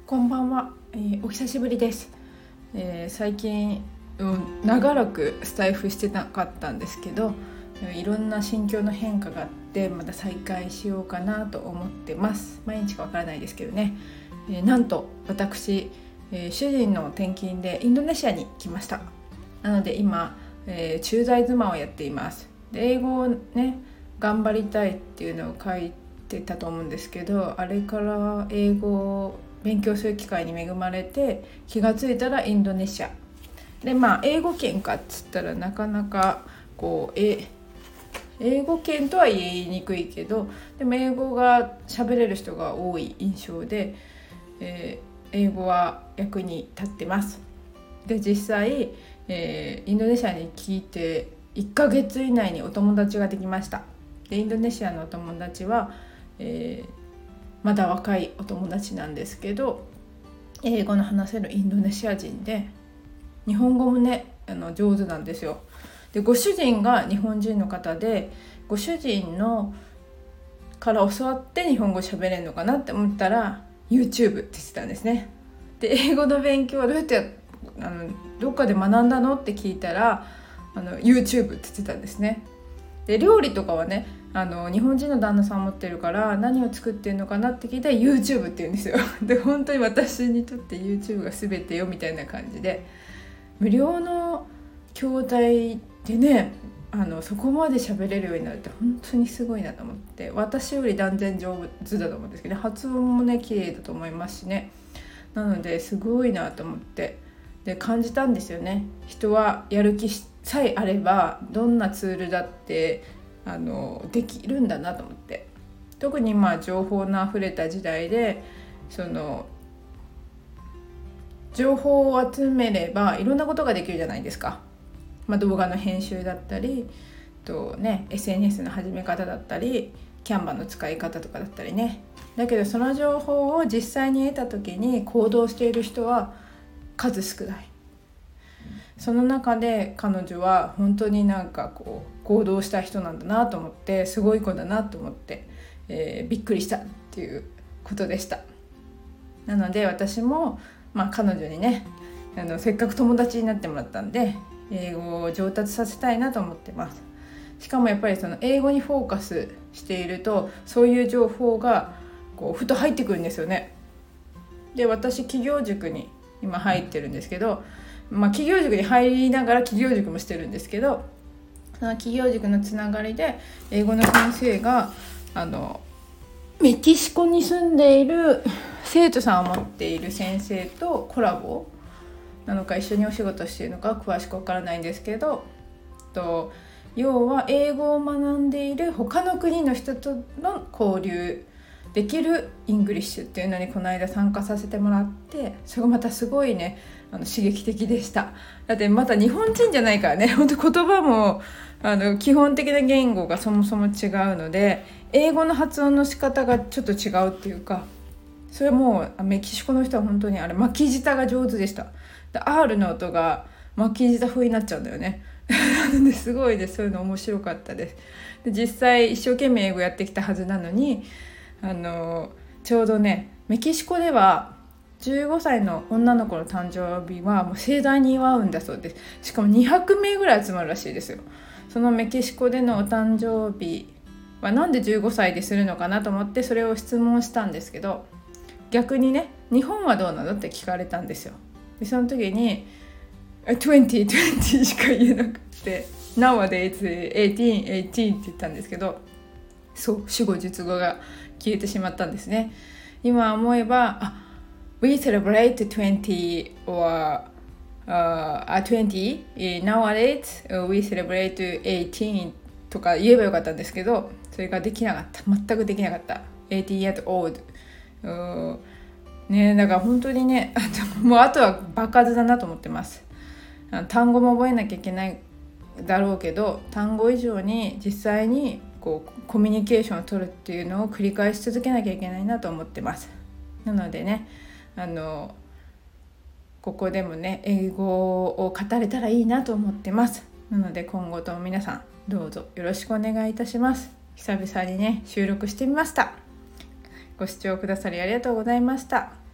こんばんは、お久しぶりです。最近、長らくスタイフしてなかったんですけど、いろんな心境の変化があってまた再開しようかなと思ってます。毎日かわからないですけどね。なんと私、主人の転勤でインドネシアに来ました。なので今、駐在妻をやっています。で英語をね頑張りたいっていうのを書いてたと思うんですけど、あれから英語を勉強する機会に恵まれて気がついたらインドネシアで、英語圏かっつったらなかなかこう英語圏とは言いにくいけど、でも英語が喋れる人が多い印象で、英語は役に立ってます。で実際、インドネシアに来て1ヶ月以内にお友達ができました。でインドネシアのお友達は、まだ若いお友達なんですけど、英語の話せるインドネシア人で日本語もね上手なんですよ。でご主人が日本人の方で、ご主人のから教わって日本語喋れるのかなって思ったら YouTube って言ってたんですね。で英語の勉強はどうやってどっかで学んだのって聞いたらYouTube って言ってたんですね。で料理とかはね日本人の旦那さん持ってるから何を作ってるのかなって聞いたら YouTube って言うんですよ。で本当に私にとって YouTube が全てよみたいな感じで、無料の教材でねそこまで喋れるようになるって本当にすごいなと思って、私より断然上手だと思うんですけど、発音もね綺麗だと思いますしね。なのですごいなと思ってで感じたんですよね。人はやる気さえあればどんなツールだってできるんだなと思って、特に情報のあふれた時代で情報を集めればいろんなことができるじゃないですか。動画の編集だったりSNS の始め方だったりキャンバの使い方とかだったりね。だけどその情報を実際に得た時に行動している人は数少ない。その中で彼女は本当に行動した人なんだなと思って、すごい子だなと思って、びっくりしたっていうことでした。なので私も、彼女にねせっかく友達になってもらったんで英語を上達させたいなと思ってます。しかもやっぱり英語にフォーカスしているとそういう情報がふと入ってくるんですよね。で私企業塾に今入ってるんですけど、企業塾に入りながら企業塾もしてるんですけど、その企業塾のつながりで英語の先生がメキシコに住んでいる生徒さんを持っている先生とコラボなのか一緒にお仕事しているのか詳しくわからないんですけど、要は英語を学んでいる他の国の人との交流できるイングリッシュっていうのにこの間参加させてもらって、それがまたすごいね刺激的でした。だってまた日本人じゃないからね、本当言葉も基本的な言語がそもそも違うので英語の発音の仕方がちょっと違うっていうか、それもメキシコの人は本当に巻き舌が上手でした。で R の音が巻き舌風になっちゃうんだよね。なのですごいです。そういうの面白かったです。で実際一生懸命英語やってきたはずなのにちょうどねメキシコでは15歳の女の子の誕生日はもう盛大に祝うんだそうです。しかも200名ぐらい集まるらしいですよ。そのメキシコでのお誕生日はなんで15歳でするのかなと思ってそれを質問したんですけど、逆にね日本はどうなのって聞かれたんですよ。でその時に20しか言えなくて Nowadays 18って言ったんですけど、そう主語述語が消えてしまったんですね。今思えばWe celebrate 20 or 20 Nowadays we celebrate 18とか言えばよかったんですけど、それができなかった。全くできなかった。18 years old ね、だから本当にねもうあとは場数だなと思ってます。単語も覚えなきゃいけないだろうけど、単語以上に実際にコミュニケーションを取るっていうのを繰り返し続けなきゃいけないなと思ってます。なのでねここでもね英語を語れたらいいなと思ってます。なので今後とも皆さんどうぞよろしくお願いいたします。久々にね収録してみました。ご視聴くださりありがとうございました。